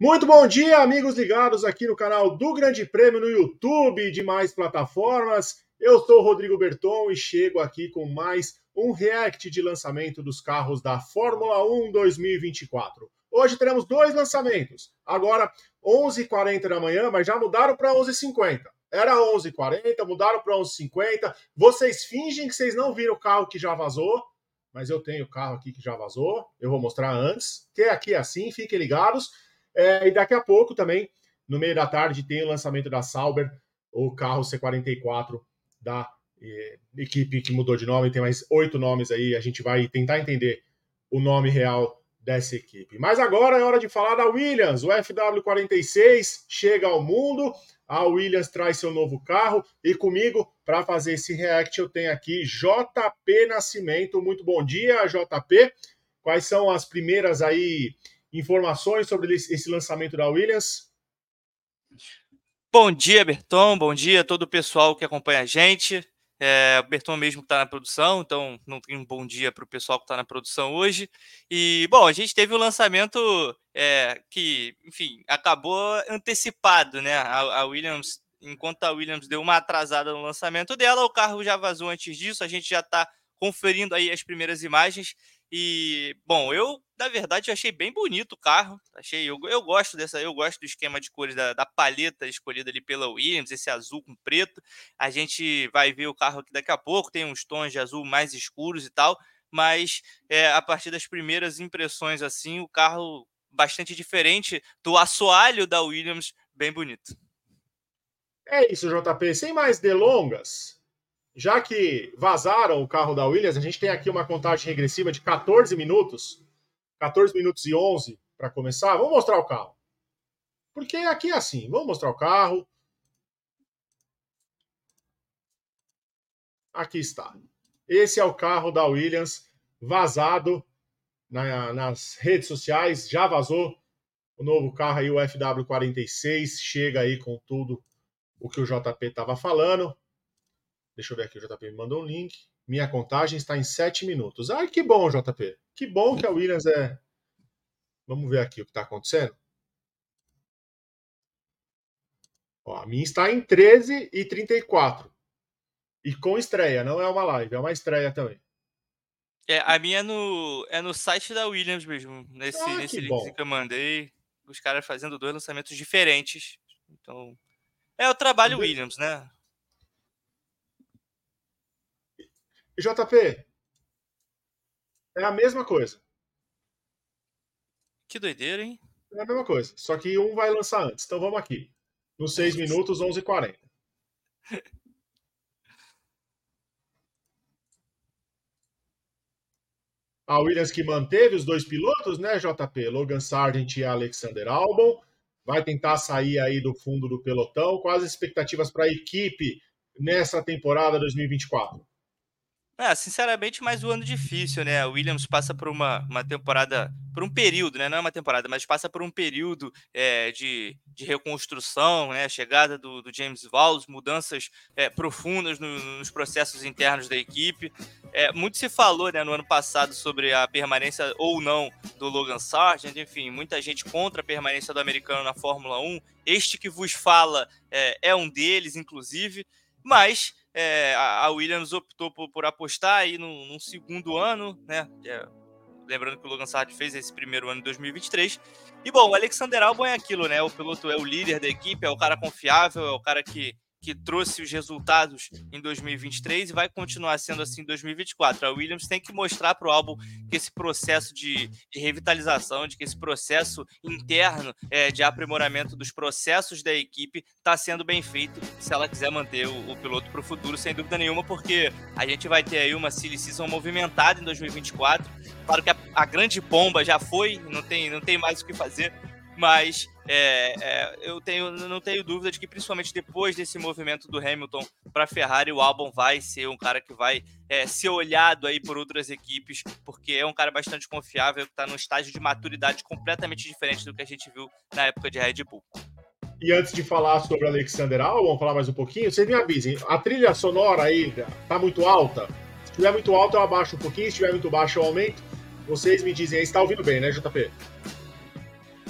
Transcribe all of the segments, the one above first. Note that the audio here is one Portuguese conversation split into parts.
Muito bom dia, amigos ligados aqui no canal do Grande Prêmio no YouTube e demais plataformas. Eu sou o Rodrigo Berton e chego aqui com mais um react de lançamento dos carros da Fórmula 1 2024. Hoje teremos dois lançamentos. Agora, 11h40 da manhã, mas já mudaram para 11h50. Era 11h40, mudaram para 11h50. Vocês fingem que vocês não viram o carro que já vazou, mas eu tenho o carro aqui que já vazou. Eu vou mostrar antes, que aqui é assim, fiquem ligados. E daqui a pouco também, no meio da tarde, tem o lançamento da Sauber, o carro C44 da equipe que mudou de nome, tem mais 8 nomes aí, a gente vai tentar entender o nome real dessa equipe. Mas agora é hora de falar da Williams, o FW46 chega ao mundo, a Williams traz seu novo carro, e comigo, para fazer esse react, eu tenho aqui JP Nascimento. Muito bom dia, JP. Quais são as primeiras aí informações sobre esse lançamento da Williams? Bom dia, Berton. Bom dia a todo o pessoal que acompanha a gente. O Berton mesmo que está na produção, então não tem um bom dia para o pessoal que está na produção hoje. E, bom, a gente teve o lançamento que, enfim, acabou antecipado, né? A Williams, enquanto a Williams deu uma atrasada no lançamento dela, o carro já vazou antes disso, a gente já está conferindo aí as primeiras imagens. E, bom, na verdade, achei bem bonito o carro. Eu gosto do esquema de cores da paleta escolhida ali pela Williams, esse azul com preto. A gente vai ver o carro aqui daqui a pouco, tem uns tons de azul mais escuros e tal, mas a partir das primeiras impressões, assim, o carro bastante diferente do assoalho da Williams, bem bonito. É isso, JP. Sem mais delongas, já que vazaram o carro da Williams, a gente tem aqui uma contagem regressiva de 14 minutos e 11 para começar. Vamos mostrar o carro. Porque aqui é assim, vamos mostrar o carro. Aqui está. Esse é o carro da Williams, vazado nas redes sociais, já vazou o novo carro aí, o FW46, chega aí com tudo o que o JP estava falando. Deixa eu ver aqui, o JP me mandou um link. Minha contagem está em 7 minutos. Ai, que bom, JP. Que bom que a Williams é... Vamos ver aqui o que está acontecendo. Ó, a minha está em 13h34. E com estreia, não é uma live, é uma estreia também. A minha é no site da Williams mesmo, nesse link que eu mandei, os caras fazendo 2 lançamentos diferentes. Então, é o trabalho Williams, né? JP, é a mesma coisa. Que doideira, hein? É a mesma coisa, só que um vai lançar antes. Então vamos aqui. Nos 6 minutos, 11h40. A Williams que manteve os 2 pilotos, né, JP? Logan Sargent e Alexander Albon. Vai tentar sair aí do fundo do pelotão. Quais as expectativas para a equipe nessa temporada 2024? Sinceramente, mais um ano difícil, né? A Williams passa por uma temporada, por um período, né? Não é uma temporada, mas passa por um período de reconstrução, né? A chegada do James Vowles, mudanças profundas nos processos internos da equipe. Muito se falou, né, no ano passado sobre a permanência ou não do Logan Sargent, enfim, muita gente contra a permanência do americano na Fórmula 1. Este que vos fala é um deles, inclusive, mas a Williams optou por apostar aí num segundo ano, né? Lembrando que o Logan Sargent fez esse primeiro ano em 2023. E, bom, o Alexander Albon é aquilo, né? O piloto é o líder da equipe, é o cara confiável, é o cara que trouxe os resultados em 2023 e vai continuar sendo assim em 2024. A Williams tem que mostrar para o Albon que esse processo de revitalização, de que esse processo interno de aprimoramento dos processos da equipe está sendo bem feito se ela quiser manter o piloto para o futuro, sem dúvida nenhuma, porque a gente vai ter aí uma silly season movimentada em 2024. Claro que a grande bomba já foi, não tem mais o que fazer, mas eu não tenho dúvida de que, principalmente depois desse movimento do Hamilton para a Ferrari, o Albon vai ser um cara que vai ser olhado aí por outras equipes, porque é um cara bastante confiável, que está num estágio de maturidade completamente diferente do que a gente viu na época de Red Bull. E antes de falar sobre Alexander Albon, falar mais um pouquinho, vocês me avisem, a trilha sonora aí tá muito alta? Se estiver muito alta, eu abaixo um pouquinho, se estiver muito baixo, eu aumento. Vocês me dizem aí, você tá ouvindo bem, né, JP?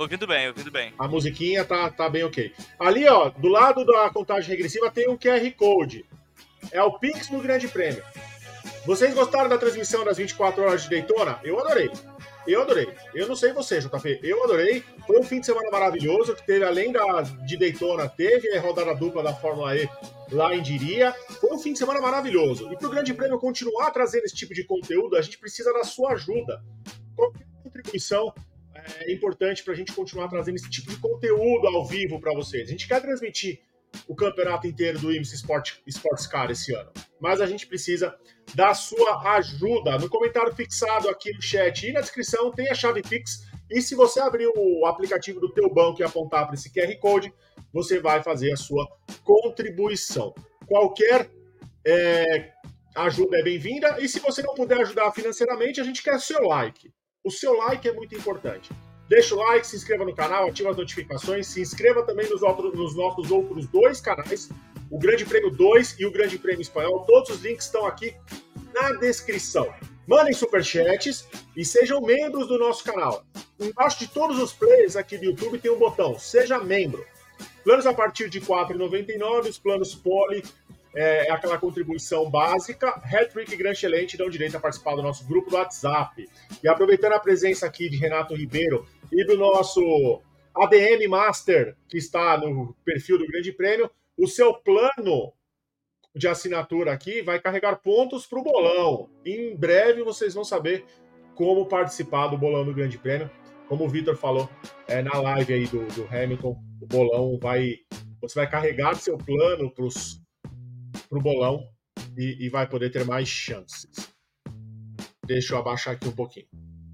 Ouvindo bem, ouvindo bem. A musiquinha tá bem ok. Ali, ó, do lado da contagem regressiva tem um QR Code. É o Pix do Grande Prêmio. Vocês gostaram da transmissão das 24 horas de Daytona? Eu adorei. Eu não sei você, JP. Eu adorei. Foi um fim de semana maravilhoso que teve, além de Daytona, teve a rodada dupla da Fórmula E lá em Diria. Foi um fim de semana maravilhoso. E para o Grande Prêmio continuar trazendo esse tipo de conteúdo, a gente precisa da sua ajuda. Qualquer contribuição é importante para a gente continuar trazendo esse tipo de conteúdo ao vivo para vocês. A gente quer transmitir o campeonato inteiro do IMSA Sports Car esse ano, mas a gente precisa da sua ajuda. No comentário fixado aqui no chat e na descrição tem a chave Pix, e se você abrir o aplicativo do teu banco e apontar para esse QR Code, você vai fazer a sua contribuição. Qualquer ajuda é bem-vinda, e se você não puder ajudar financeiramente, a gente quer o seu like. O seu like é muito importante. Deixa o like, se inscreva no canal, ativa as notificações, se inscreva também nos nossos outros 2 canais, o Grande Prêmio 2 e o Grande Prêmio Espanhol. Todos os links estão aqui na descrição. Mandem superchats e sejam membros do nosso canal. Embaixo de todos os players aqui do YouTube tem um botão, seja membro. Planos a partir de R$ 4,99, os planos Poli é aquela contribuição básica. Hat-Trick e Gran Excelente dão direito a participar do nosso grupo do WhatsApp. E aproveitando a presença aqui de Renato Ribeiro e do nosso ADM Master, que está no perfil do Grande Prêmio, o seu plano de assinatura aqui vai carregar pontos para o bolão. Em breve vocês vão saber como participar do bolão do Grande Prêmio. Como o Vitor falou na live aí do Hamilton, o bolão você vai carregar seu plano para o bolão e vai poder ter mais chances. Deixa eu abaixar aqui um pouquinho.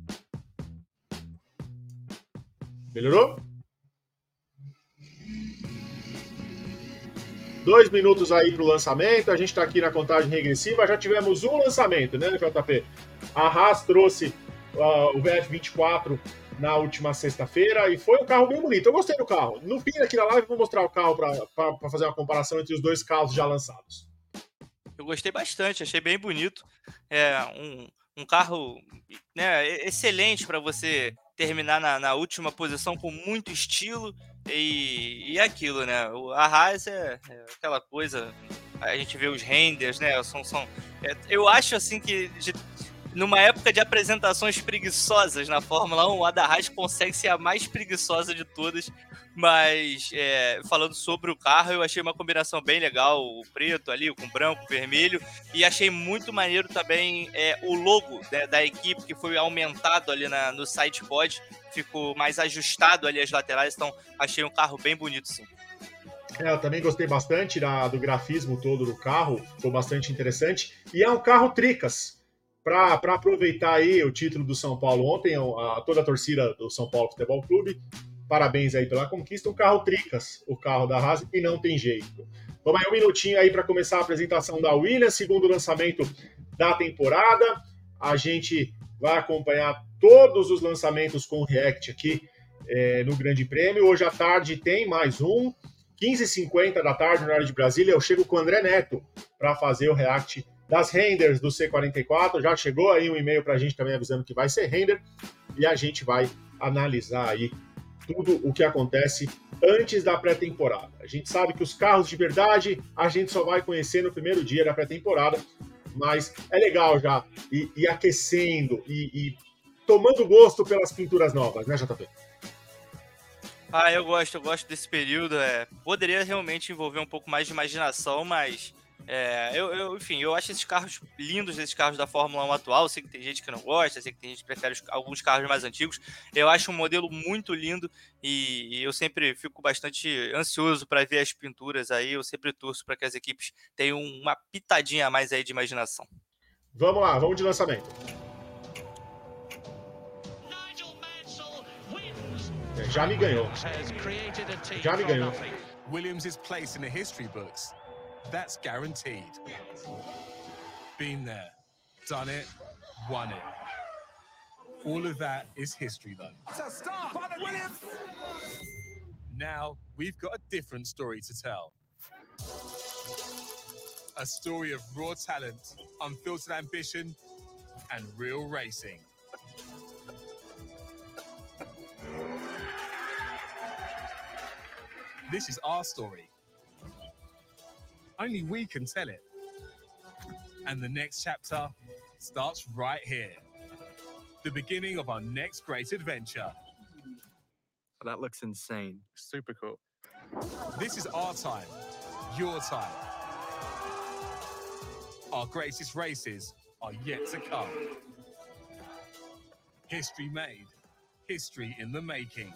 Melhorou? 2 minutos aí para o lançamento. A gente está aqui na contagem regressiva. Já tivemos um lançamento, né, JP? A Haas trouxe o VF24 na última sexta-feira e foi um carro bem bonito. Eu gostei do carro. No fim aqui da live, vou mostrar o carro para fazer uma comparação entre os 2 carros já lançados. Eu gostei bastante, achei bem bonito. É um carro, né, excelente para você terminar na última posição com muito estilo e aquilo, né? A Haas é aquela coisa, a gente vê os renders, né? Eu acho assim que numa época de apresentações preguiçosas na Fórmula 1, a da Haas consegue ser a mais preguiçosa de todas. Mas, falando sobre o carro, eu achei uma combinação bem legal, o preto ali, com branco, vermelho, e achei muito maneiro também o logo, né, da equipe, que foi aumentado ali no sidepod, ficou mais ajustado ali as laterais, então achei um carro bem bonito, sim. Eu também gostei bastante do grafismo todo do carro, ficou bastante interessante, e é um carro tricas. Para aproveitar aí o título do São Paulo ontem, toda a torcida do São Paulo Futebol Clube, parabéns aí pela conquista, um carro tricas, o carro da Haas, e não tem jeito. Vamos aí um minutinho aí para começar a apresentação da Williams, segundo lançamento da temporada. A gente vai acompanhar todos os lançamentos com react aqui no Grande Prêmio. Hoje à tarde tem mais um, 15h50 da tarde, no horário de Brasília. Eu chego com o André Neto para fazer o react das renders do C44. Já chegou aí um e-mail para a gente também avisando que vai ser render, e a gente vai analisar aí tudo o que acontece antes da pré-temporada. A gente sabe que os carros de verdade a gente só vai conhecer no primeiro dia da pré-temporada, mas é legal já ir aquecendo e tomando gosto pelas pinturas novas, né, JP? Eu gosto desse período. Poderia realmente envolver um pouco mais de imaginação, mas enfim, eu acho esses carros lindos, esses carros da Fórmula 1 atual. Eu sei que tem gente que não gosta, sei que tem gente que prefere alguns carros mais antigos. Eu acho um modelo muito lindo e eu sempre fico bastante ansioso para ver as pinturas aí. Eu sempre torço para que as equipes tenham uma pitadinha a mais aí de imaginação. Vamos lá, vamos de lançamento. Já me ganhou. Williams' place in the history books. That's guaranteed. Been there, done it, won it. All of that is history, though. It's a start by the Williams. Now we've got a different story to tell. A story of raw talent, unfiltered ambition, and real racing. This is our story. Only we can tell it. And the next chapter starts right here. The beginning of our next great adventure. That looks insane. Super cool. This is our time, your time. Our greatest races are yet to come. History made, history in the making.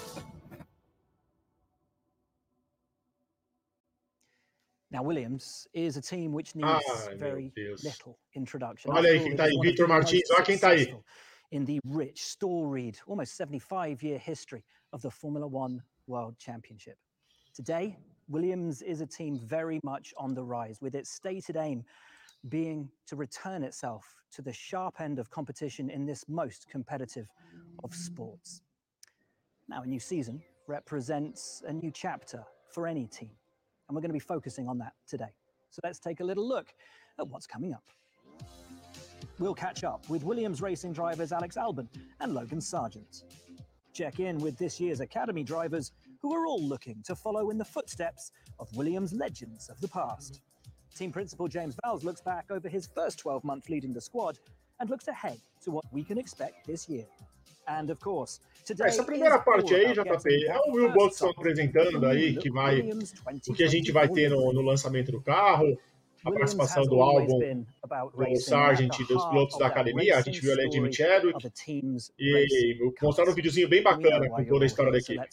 Now, Williams is a team which needs Ai, meu very Deus. little introduction. Olha aí After all, quem it tá is aí, one of Vitor the most Martins. Olha quem tá aí. successful in the rich, storied, almost 75-year history of the Formula One World Championship. Today, Williams is a team very much on the rise, with its stated aim being to return itself to the sharp end of competition in this most competitive of sports. Now, a new season represents a new chapter for any team, and we're going to be focusing on that today. So let's take a little look at what's coming up. We'll catch up with Williams racing drivers Alex Albon and Logan Sargent. Check in with this year's Academy drivers who are all looking to follow in the footsteps of Williams legends of the past. Team principal James Vowles looks back over his first 12 months leading the squad and looks ahead to what we can expect this year. And of course, today Essa primeira parte aí, JP, é o Will Buxton apresentando aí o que a gente vai ter no lançamento do carro, a participação do Albon, do Sargent e dos pilotos da academia. A gente viu ali a Jimmy Chadwick e mostraram um videozinho bem bacana com toda a história da equipe.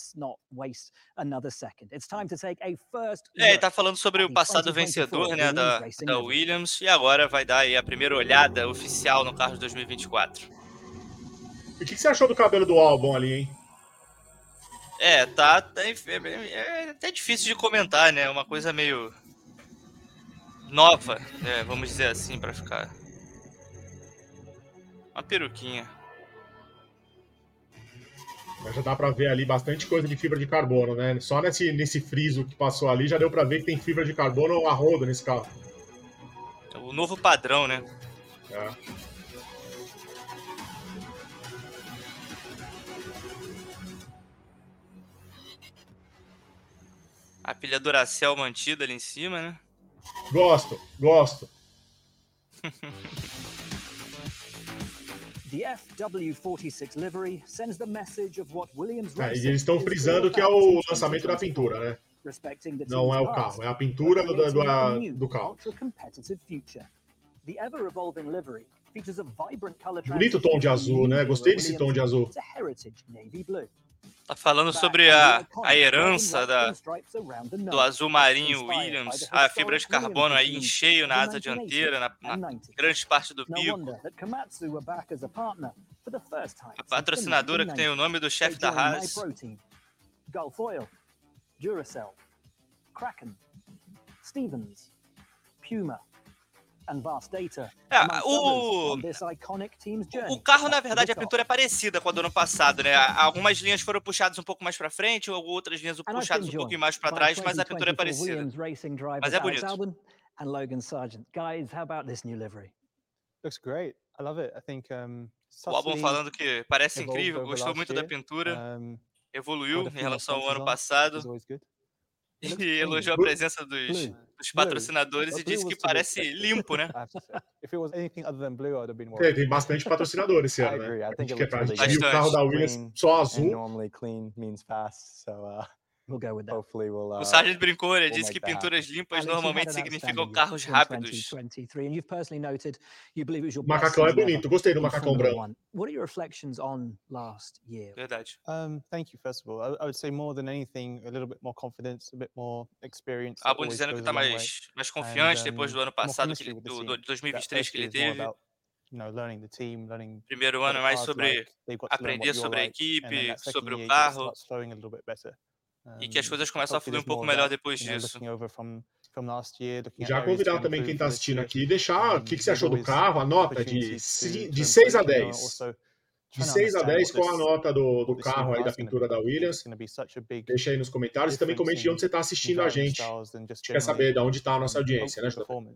Ele tá falando sobre o passado vencedor, né, da Williams, e agora vai dar aí a primeira olhada oficial no carro de 2024. E o que você achou do cabelo do Albon ali, hein? É até difícil de comentar, né? Uma coisa meio nova, né? Vamos dizer assim, pra ficar. Uma peruquinha. Mas já dá pra ver ali bastante coisa de fibra de carbono, né? Só nesse friso que passou ali já deu pra ver que tem fibra de carbono a rodo nesse carro. O novo padrão, né? É. A pilha Duracell mantida ali em cima, né? Gosto. The FW46 livery sends the message of what Williams E eles estão frisando que é o lançamento da pintura, né? Não é o carro, é a pintura do carro. Bonito tom de azul, né? Gostei desse tom de azul. Tá falando sobre a herança do azul marinho Williams, a fibra de carbono aí em cheio na asa dianteira, na grande parte do bico. A patrocinadora que tem o nome do chefe da Haas. Gulfoil, Duracell, Kraken, Stevens, Puma. O carro, na verdade, a pintura é parecida com a do ano passado, né? Algumas linhas foram puxadas um pouco mais para frente, ou outras linhas puxadas um pouco mais para trás, mas a pintura é parecida. Mas é bonito. Looks great. I love it. I think o Albon falando que parece incrível, gostou muito da pintura, evoluiu em relação ao ano passado. E elogiou a presença dos patrocinadores e disse que parece limpo, né? Tem bastante patrocinador esse ano, né? A gente viu o carro da Williams só azul. O Sargent brincou, ele disse que pinturas limpas normalmente significam carros rápidos. O macacão é bonito, gostei do macacão branco. Verdade. Thank you, first of all. I would say more than anything, a little bit more confidence, a bit more experience. Albon dizendo que tá mais confiante depois do ano passado, do 2023 que ele teve. Primeiro ano é mais sobre aprender sobre a equipe, sobre o carro. E que as coisas começam a fluir um pouco melhor depois disso. Já convidar também quem está assistindo aqui, deixar o que você achou do carro, a nota de 6 a 10. De 6 a 10, qual a nota do carro aí, da pintura da Williams? Deixa aí nos comentários e também comente de onde você está assistindo a gente. A gente quer saber de onde está a nossa audiência, né, JP?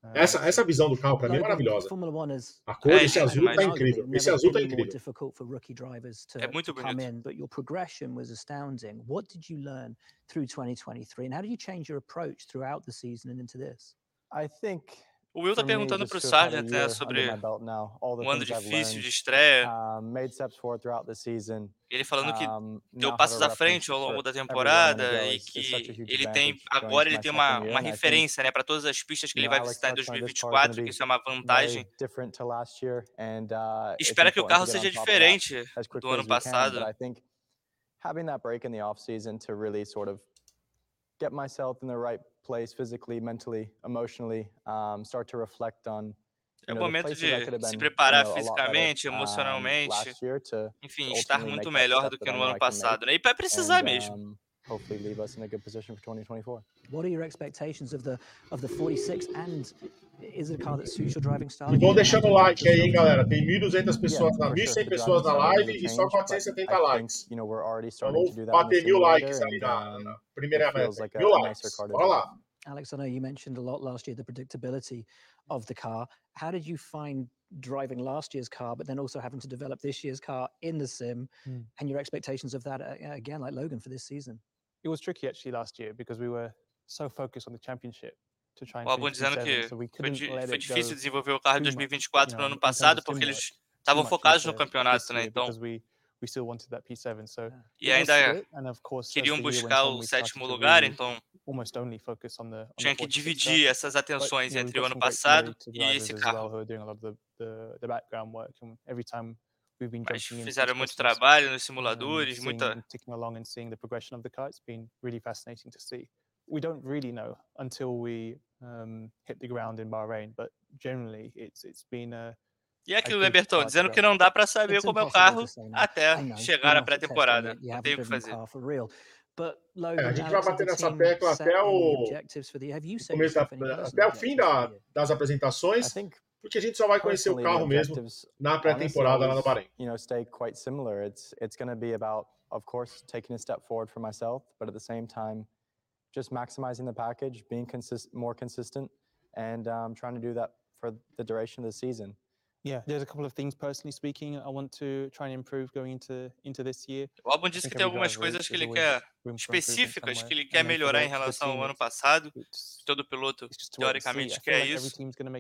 Essa visão do carro, para mim, é Logan, maravilhosa. Formula One has A cor desse azul tá arguably incrível. never Esse azul tá been more incrível. difficult for rookie drivers to muito come bonito. in, but your progression was astounding. What did you learn through 2023, and how did you change your approach throughout the season and into this? I think O Will tá for me, perguntando just pro to have had a Sargent, né, year sobre under my belt now, all the um ano things I've difícil learned, de estreia. made steps forward throughout the season. Ele falando que Now deu have passos a à frente ao reference longo for da everywhere I'm gonna temporada go e is such a que huge ele tem advantage going agora into ele my tem second uma year, and I think, referência, né, para todas as pistas que you ele know, vai Alex visitar em touched on it, this car is 2024, gonna que be isso é uma very vantagem. different to last year, and it's Espera que o important carro to get seja on top of that diferente as do quickly ano as you can. But passado. I think having that break in the off season to really sort of get myself in the right place physically, mentally, emotionally, start to reflect on É o the momento places I de could have se been, preparar a lot better fisicamente, emocionalmente, last year to enfim, estar ultimately muito make that melhor step do que that I no know ano I can make, passado, né? E vai precisar mesmo. and hopefully leave us in a good position for 2024. What are your expectations of the 46, and is it a car that suits your driving style? E vão deixando o like aí, hein, galera. Tem 1.200 Yeah, pessoas, for sure. 1.100 The pessoas driving na style live needs a e só change, but 470 I think, likes. you know, we're already Então starting vamos to do that in the bater 1.000 likes simulator, aí and na primeira it feels meta. like 1.000 a likes. nicer car to Bora drive. lá. Alex, I know you mentioned a lot last year the predictability of the car. How did you find driving last year's car, but then also having to develop this year's car in the sim, and your expectations of that again, like Logan, for this season? It was tricky actually last year because we were so focused on the championship to try and O Albon finish dizendo P7, que so we foi, couldn't let foi it difícil go desenvolver o carro em too much, 2024 you no know, ano in terms passado, of porque sim work, eles too estavam much focados no into campeonato, this né? year Então, because we still wanted that P7. So e it was ainda split, and of course, as queriam the year went buscar on, o we started sétimo to lugar, really então almost only focus on the tinha que 46 car. dividir essas But atenções you know, we've entre o got ano some great passado simulator e drivers esse as well carro. who are doing a lot of the background work, and every time we've been Mas jumping in fizeram since muito Christmas, trabalho nos simuladores, seeing muita. them ticking along and seeing the progression of the car. It's been really fascinating to see. We don't really know until we hit the ground in Bahrain, but generally it's been E é aquilo, good né, Bertão? car to Dizendo go. que não dá para saber It's como é o impossible to carro say now. até I know chegar you're na not at testing pré-temporada. it, you Não haven't tem o que driven the fazer. car for real. But A Logan, gente vai Alex, has bater the nessa team tecla set até any o objectives for the year? Have you set começo yourself any personal até o fim objectives for the year? das I apresentações, think porque a gente só vai conhecer o personally the carro mesmo objectives na honestly pré-temporada lá no always, Bahrein. you know, stay quite similar. It's going to be about, of course, taking a step forward for myself, but at the same time, just maximizing the package, being more consistent, and trying to do that for the duration of the season. Yeah, there's a couple of things personally speaking I want to try and improve going into this year. O Albon disse que tem algumas coisas que ele quer específicas que ele quer melhorar em relação ao ano passado. Todo piloto teoricamente quer isso,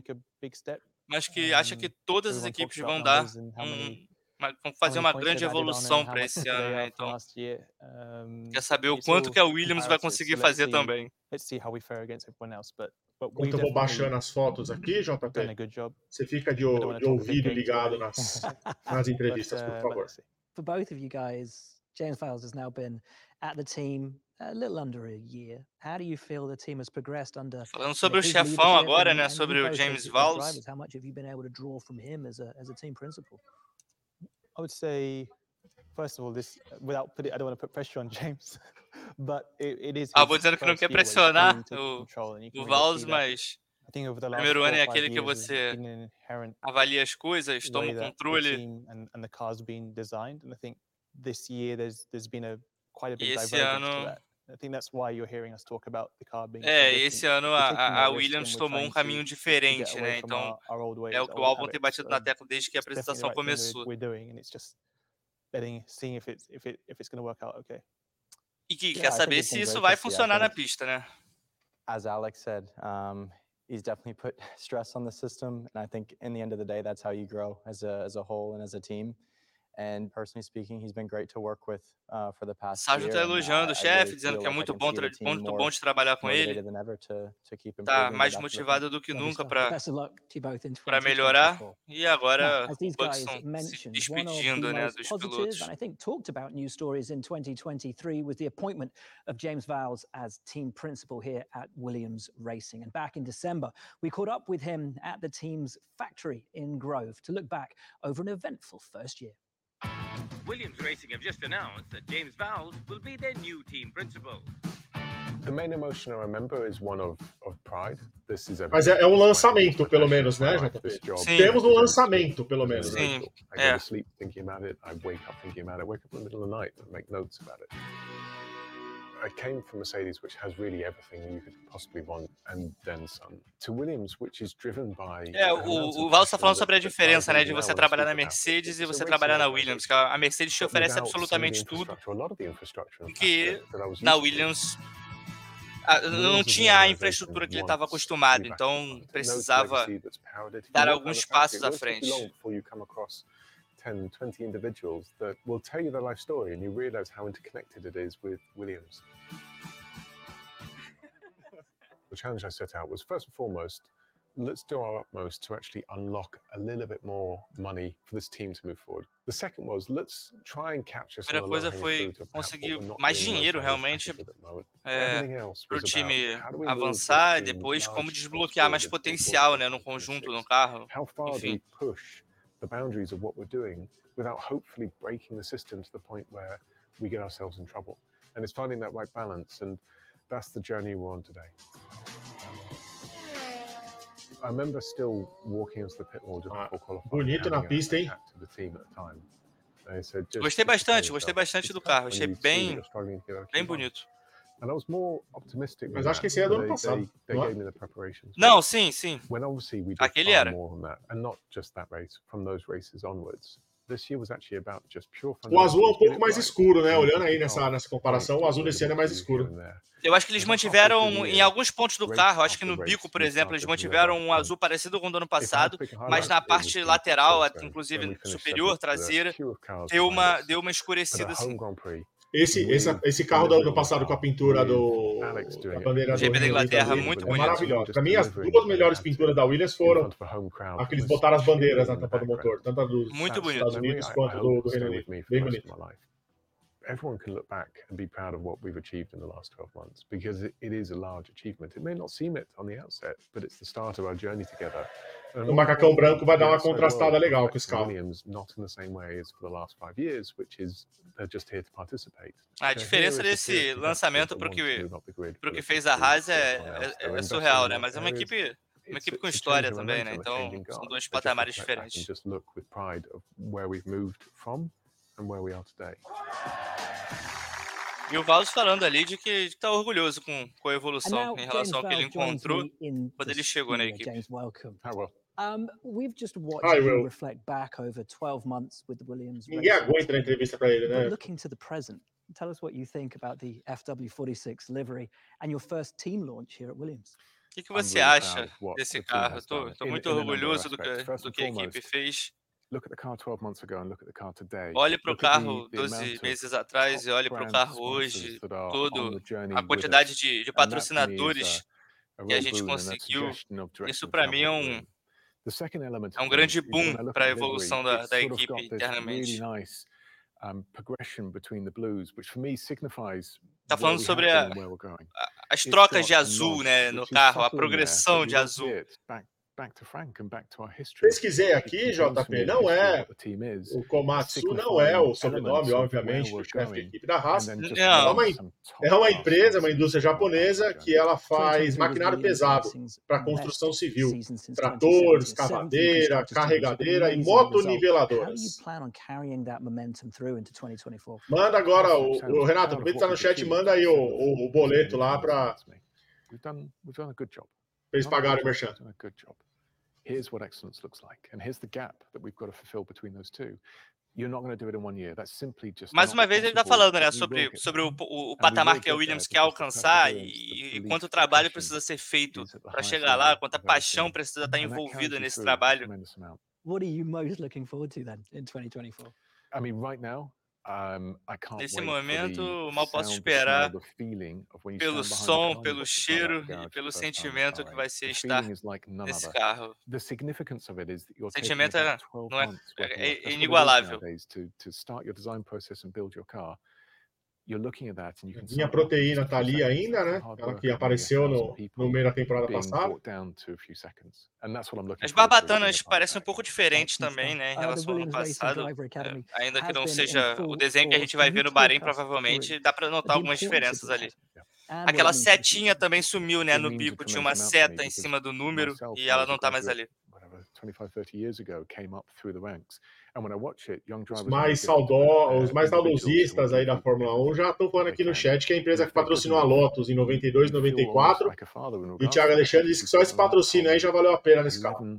mas que acha que todas as equipes vão dar vão fazer uma grande evolução para esse ano, né? Então, quer saber o quanto que a Williams vai conseguir fazer também. Enquanto eu vou baixando as fotos aqui, JP, você fica de ouvido ligado nas entrevistas, por favor. For both of you guys, James Vowles has now been at the team a little under a year. How do you feel the team has progressed under Falando sobre o his chefão leadership, agora, né, and sobre you o both James as Vowles. drivers, how much have you been able to draw from him as a team principal? I would say, first of all, this without putting, I don't want to put pressure on James, but it is. Vou dizendo que não quer pressionar o Vowles, mas o primeiro ano é aquele que você avalia as coisas, toma o controle. E esse ano esse ano a Williams tomou um caminho diferente, né? Então é o que o Albon tem batido na tecla desde que a apresentação começou. E que quer saber se isso vai funcionar na pista, né? As Alex said, he's definitely put stress on the system, and I think in the end of the day, that's how you grow as a whole and as a team. And personally speaking, he's been great to work with for the past year. Sérgio tá elogiando o chefe, dizendo que é muito bom de trabalhar com ele. Tá mais motivado do que nunca para melhorar. E agora os Bucks estão se despedindo, né, dos pilotos. And I think talked about news stories in 2023 was the appointment of James Vowles as team principal here at Williams Racing. And back in December, we caught up with him at the team's factory in Grove to look back over an eventful first year. Williams Racing have just announced that James Vowles will be their new team principal. The main emotion I remember is one of pride. This is Mas é um lançamento, pelo menos, né, JP? Temos um lançamento, pelo menos. Sim, I go to sleep thinking about it. I wake up thinking about it. I wake up in the middle of the night and make notes about it. I came from Mercedes, which has really everything you could possibly want, and then some, to Williams, which is driven by. O Val está falando sobre a diferença, né, de você trabalhar na Mercedes e você trabalhar na Williams, que a Mercedes te oferece absolutamente tudo, que na Williams não tinha a infraestrutura que ele estava acostumado, então precisava dar alguns passos à frente. 10, 20 individuals that will tell you their life story, and you realize how interconnected it is with Williams. The challenge I set out was, first and foremost, let's do our utmost to actually unlock a little bit more money for this team to move forward. The second was, let's try and capture some of the low-hanging fruit of conseguir mais dinheiro realmente para o time avançar, e depois como desbloquear mais potencial, né, no conjunto, no carro. Enfim. The boundaries of what we're doing without hopefully breaking the system to the point where we get ourselves in trouble. And it's finding that right balance, and that's the journey we're on today. I remember still walking into the pit wall just before qualifying. Bonito na pista, hein? To the team at the time. Gostei bastante do carro, achei bem bonito. And I was more optimistic. Mas acho que esse é do ano passado. Não, sim. When obviously we did Aquele era. more on that, and not just that race, from those races onwards. This year was actually about just pure fun. O azul é um pouco mais escuro, né? Olhando aí nessa comparação, o azul desse ano é mais escuro. Eu acho que eles mantiveram em alguns pontos do carro, acho que no bico, por exemplo, eles mantiveram um azul parecido com o do ano passado, mas na parte lateral, inclusive superior, traseira, deu uma escurecida assim. Esse carro do ano passado com a pintura da bandeira do GP da Inglaterra, muito bonito. Maravilhoso. Para mim, as duas melhores pinturas da Williams foram a que eles botaram as bandeiras na tampa do motor, tanto a dos Estados Unidos quanto do Reino Unido. Bem bonito. Everyone can look back and be proud of what we've achieved in the last 12 months, because it is a large achievement. It may not seem it on the outset, but it's the start of our journey together. O macacão branco vai dar uma contrastada legal com esse carro. Williams, not in the same way as for the last 5 years, which is they're just here to participate. A diferença desse lançamento para o que fez a Haas é surreal, né? Mas é uma equipe com história também, né? Então são dois patamares diferentes. Just look with pride of where we've moved from and where we are today. E o Valls falando ali de que está orgulhoso com a evolução em relação ao que ele encontrou quando ele chegou na equipe. We've just watched you reflect back over 12 months with the Williams. Ninguém aguenta a entrevista para ele, né? Looking to the present, tell us what you think about the FW46 livery and your first team launch here at Williams. O que você acha desse carro? Estou muito orgulhoso do que a equipe fez. Olhe para o carro 12 meses atrás e olhe para o carro hoje, a quantidade de patrocinadores que a gente conseguiu. Isso para mim é um grande boom para a evolução da equipe internamente. Está falando sobre as trocas de azul, né, no carro, a progressão de azul. Pesquisei aqui, JP, não é o Komatsu, não é o sobrenome, obviamente, do chefe da equipe da Haas. É uma empresa, uma indústria japonesa que ela faz maquinário pesado para construção civil, tratores, cavadeira, carregadeira e motoniveladoras. Manda agora, o Renato, também está no chat, manda aí o boleto lá para eles pagarem o merchan. Here's what excellence looks like, and here's the gap that we've got to fulfill between those two. You're not going to do it in 1 year. That's simply just. Mais uma vez ele está falando, né, sobre o patamar que a Williams quer alcançar e quanto trabalho precisa ser feito para chegar lá, quanta paixão precisa estar envolvida nesse trabalho. What are you most looking forward to then in 2024? I mean, right now. Nesse momento, mal posso esperar pelo som, pelo cheiro e pelo sentimento que vai ser estar nesse carro. O sentimento é inigualável. Minha proteína tá ali ainda, né? Ela que apareceu no meio da temporada passada. As barbatanas parecem um pouco diferentes também, né? Em relação ao ano passado. Ainda que não seja o desenho que a gente vai ver no Bahrein, provavelmente dá para notar algumas diferenças ali. Aquela setinha também sumiu, né? No bico tinha uma seta em cima do número e ela não tá mais ali. 25, 30 years ago came up through the ranks. And when I watch it, young Os drivers mais saudosistas aí da Fórmula 1 já estão falando aqui no chat que a empresa que patrocinou a Lotus em 92, 94. E o Thiago Alexandre disse que só esse patrocínio aí já valeu a pena nesse carro.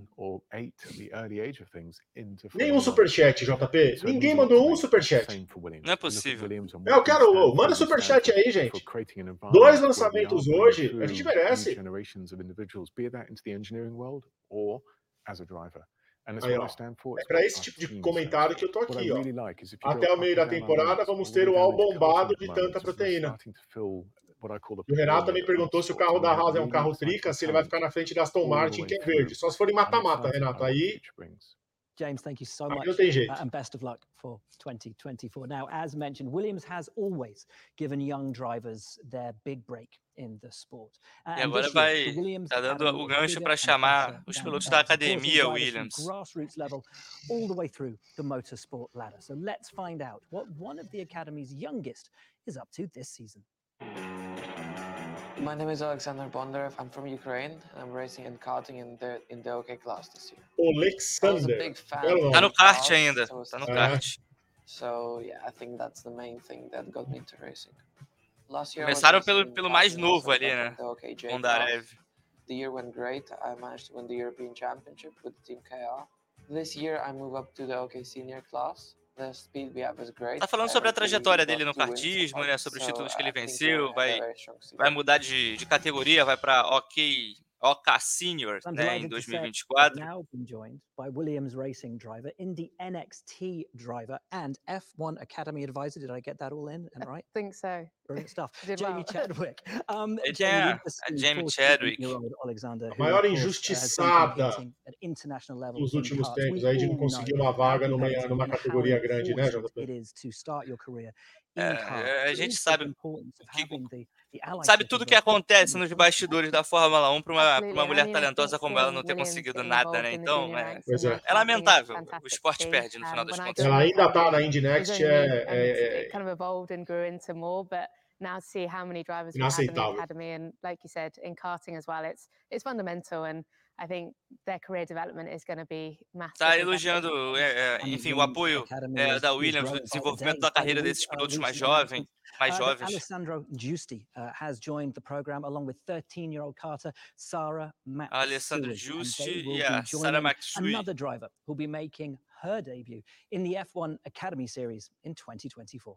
Nenhum superchat, JP. Ninguém mandou um superchat. Não é possível. Eu quero. Manda superchat aí, gente. 2 lançamentos hoje. A gente merece. Aí, ó, é para esse tipo de comentário que eu tô aqui, ó. Até o meio da temporada vamos ter o all bombado de tanta proteína. E o Renato também perguntou se o carro da Haas é um carro trica, se ele vai ficar na frente da Aston Martin, que é verde. Só se for em mata-mata, Renato. Aí James, thank you so much, não tem jeito. and best of luck for 2024. Now, as mentioned, Williams has always given young drivers their big break in the sport. E agora tá dando o gancho para chamar os pilotos da academia Williams. Grassroots level all the way through the motorsport ladder. So let's find out what one of the academy's youngest is up to this season. My name is Alexander Bondarev. I'm from Ukraine. I'm racing and karting in the OK class this year. Alexander. Tá no kart ainda. Tá no kart. So yeah, I think that's the main thing that got me into racing. Last year Começaram pelo mais novo ali, né? Bondarev. The year went great. I managed to win the European Championship with Team KR. This year I moved up to the OK Senior class. Tá falando sobre a trajetória dele no kartismo, né? Sobre os títulos que ele venceu, vai mudar de categoria, vai para OK Senior, né, em 2024. Now been joined by Williams Racing driver, Indy NXT driver, and F1 Academy advisor. Did I get that all in and right? I think so. Brilliant stuff. Jamie Chadwick. Jamie Chadwick. A maior injustiçada nos últimos tempos aí de não conseguir uma vaga numa categoria grande, né, JP? A gente sabe tudo o que acontece nos bastidores da Fórmula 1 para uma mulher talentosa como ela não ter conseguido nada, né? Então, é lamentável. O esporte perde no final das contas. Ela ainda tá na Indy Next, now to see how many drivers we have in the academy, and like you said, in karting as well, it's fundamental, and I think their career development is going to be massive. Tá elogiando, enfim, o apoio da Williams no desenvolvimento da carreira desses pilotos mais jovens. Alessandro Giusti has joined the program along with 13-year-old karter Sarah Matsui. Alessandro Giusti e Sarah Matsui. Another driver who'll be making her debut in the F1 Academy Series in 2024.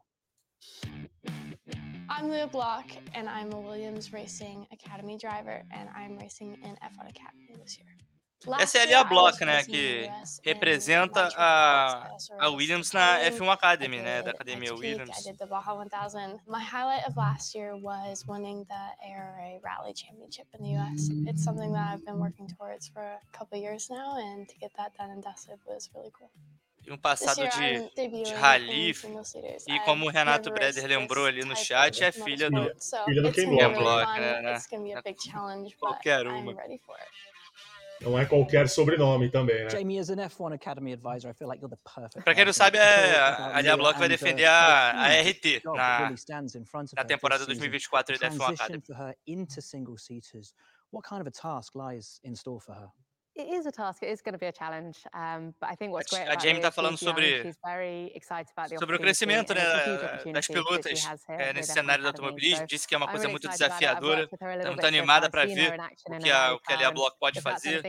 I'm Leah Block, and I'm a Williams Racing Academy driver, and I'm racing in F1 Academy this year. Essa é a Leah Block, né, que representa a Williams na F1 Academy, né, da Academia Williams. I did the Baja 1000. My highlight of last year was winning the ARA Rally Championship in the US. It's something that I've been working towards for a couple of years now, and to get that done and dusted was really cool. E um passado de rally, e como o Renato Breder lembrou ali no chat, é filha do Ken Block, né? Qualquer uma. Não é qualquer sobrenome também, né? Jamie, as an F1 Academy advisor, I feel like you're the perfect. Para quem não sabe, a Leah Block vai defender a RT na temporada 2024 da F1 Academy. What kind of a task lies in store for her? It is a task. It is going to be a challenge. But I think what's great a Jamie está falando sobre o crescimento, né, das pilotas nesse cenário do automobilismo. Disse que é uma coisa muito desafiadora. Está muito animada para ver o que a Leah Block pode fazer.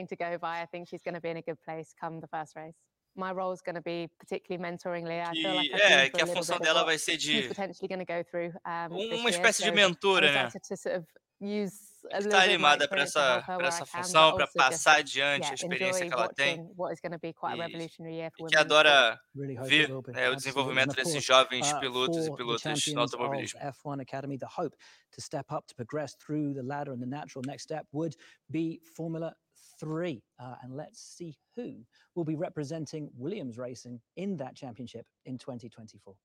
My role is going to be particularly mentoring Leah. I feel like que a função dela vai ser de uma espécie de mentora, né? Está animada para essa função, para passar adiante a experiência que ela tem e que adora ver o desenvolvimento desses jovens pilotos e pilotas no automobilismo. F1 Academy, the hope to step up, to progress through the ladder, and the natural next step would be Formula 3. And let's see who will be representing Williams Racing in that championship in 2024.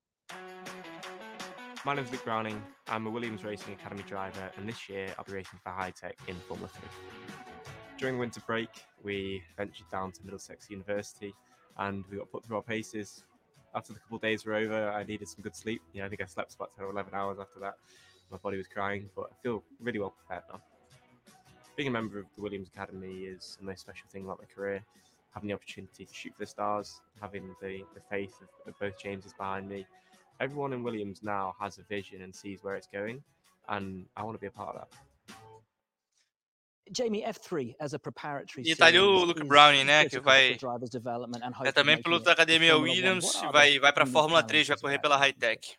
My name's Luke Browning. I'm a Williams Racing Academy driver, and this year I'll be racing for Hitech in Formula 3. During the winter break, we ventured down to Middlesex University, and we got put through our paces. After the couple of days were over, I needed some good sleep. I think I slept about 10 or 11 hours after that. My body was crying, but I feel really well prepared now. Being a member of the Williams Academy is the most special thing about my career. having the opportunity to shoot for the stars, having the faith of both Jameses behind me. Everyone in Williams now has a vision and sees where it's going, and I want to be a part of that. Jamie, F3 as a preparatory E tá ali o Luke Browning, né, que vai também piloto da academia Williams, vai para a Fórmula 3, vai correr pela High-Tech.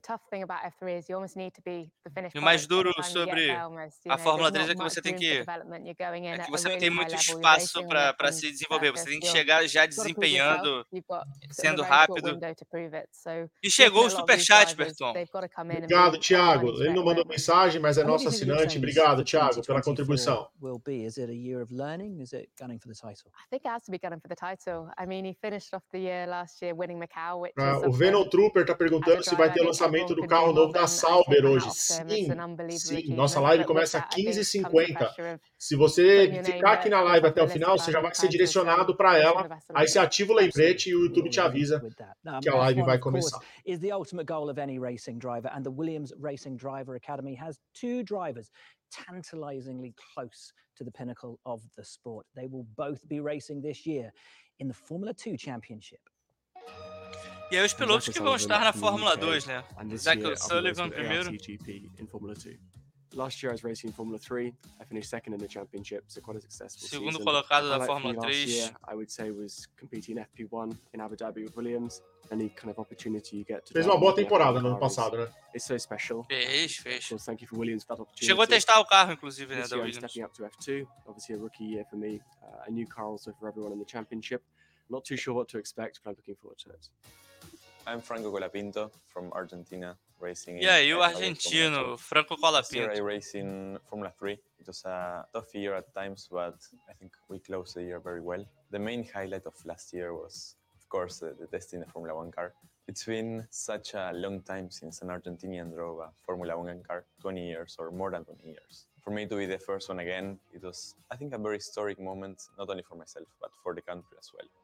E o mais duro sobre a Fórmula 3 é que você tem que você não tem muito espaço para se desenvolver, você tem que chegar já desempenhando, sendo rápido. E chegou o superchat, Berton. Obrigado, Thiago. Ele não mandou mensagem, mas é nosso assinante. Obrigado, Thiago, pela contribuição. Will be? Is it a year of learning? Is it gunning for the title? I think it has to be gunning for the title. I mean, he finished off the year last year winning Macau, which o Venom Trooper tá perguntando se vai ter o lançamento do carro novo da Sauber hoje. Sim, sim. Nossa live começa às 15h50. Se você ficar aqui na live até o final, você já vai ser direcionado para ela. Aí você ativa o lembrete e o YouTube te avisa que a live vai começar. Is the ultimate goal of any racing driver, and the Williams Racing Driver Academy has 2 drivers tantalizingly close to the pinnacle of the sport. They will both be racing this year in the Formula 2 Championship. E aí os pilotos que vão estar na Fórmula 2, né? Zach Sullivan primeiro. Last year I was racing in Formula 3. I finished second in the championship, so quite a successful Segundo season. colocado da Fórmula 3. Last year, I would say, was competing in FP1 in Abu Dhabi with Williams. Any kind of opportunity you get to fez uma boa temporada no ano passado, né? It's so special. Fez. So thank you for Williams for that opportunity. Chegou a testar o carro, inclusive, né, da I'm Williams. stepping up to F2. Obviously a rookie year for me. A new car also for everyone in the championship. Not too sure what to expect, but I'm looking forward to it. I'm Franco Colapinto from Argentina, racing. E aí o argentino, Franco Colapinto. This year I raced in Formula 3. It was a tough year at times, but I think we closed the year very well. The main highlight of last year was, of course, the testing the Formula 1 car. It's been such a long time since an Argentinian drove a Formula 1 car, 20 years or more than 20 years. For me to be the first one again, it was, I think, a very historic moment, not only for myself, but for the country as well.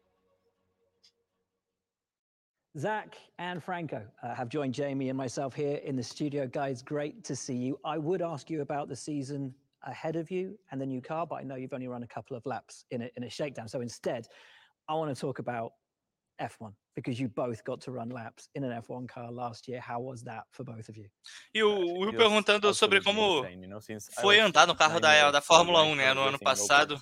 Zach and Franco have joined Jamie and myself here in the studio. Guys, great to see you. I would ask you about the season ahead of you and the new car, but I know you've only run a couple of laps in a shakedown. So instead, I want to talk about F1, because you both got to run laps in an F1 car last year. How was that for both of you? E o Will perguntando sobre como foi andar no carro da Fórmula 1, né, no ano passado.